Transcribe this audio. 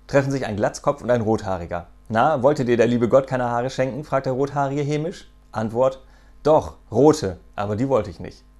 treffen sich ein Glatzkopf und ein Rothaariger. »Na, wollte dir der liebe Gott keine Haare schenken?« fragt der Rothaarige hämisch. Antwort: »Doch, rote, aber die wollte ich nicht.«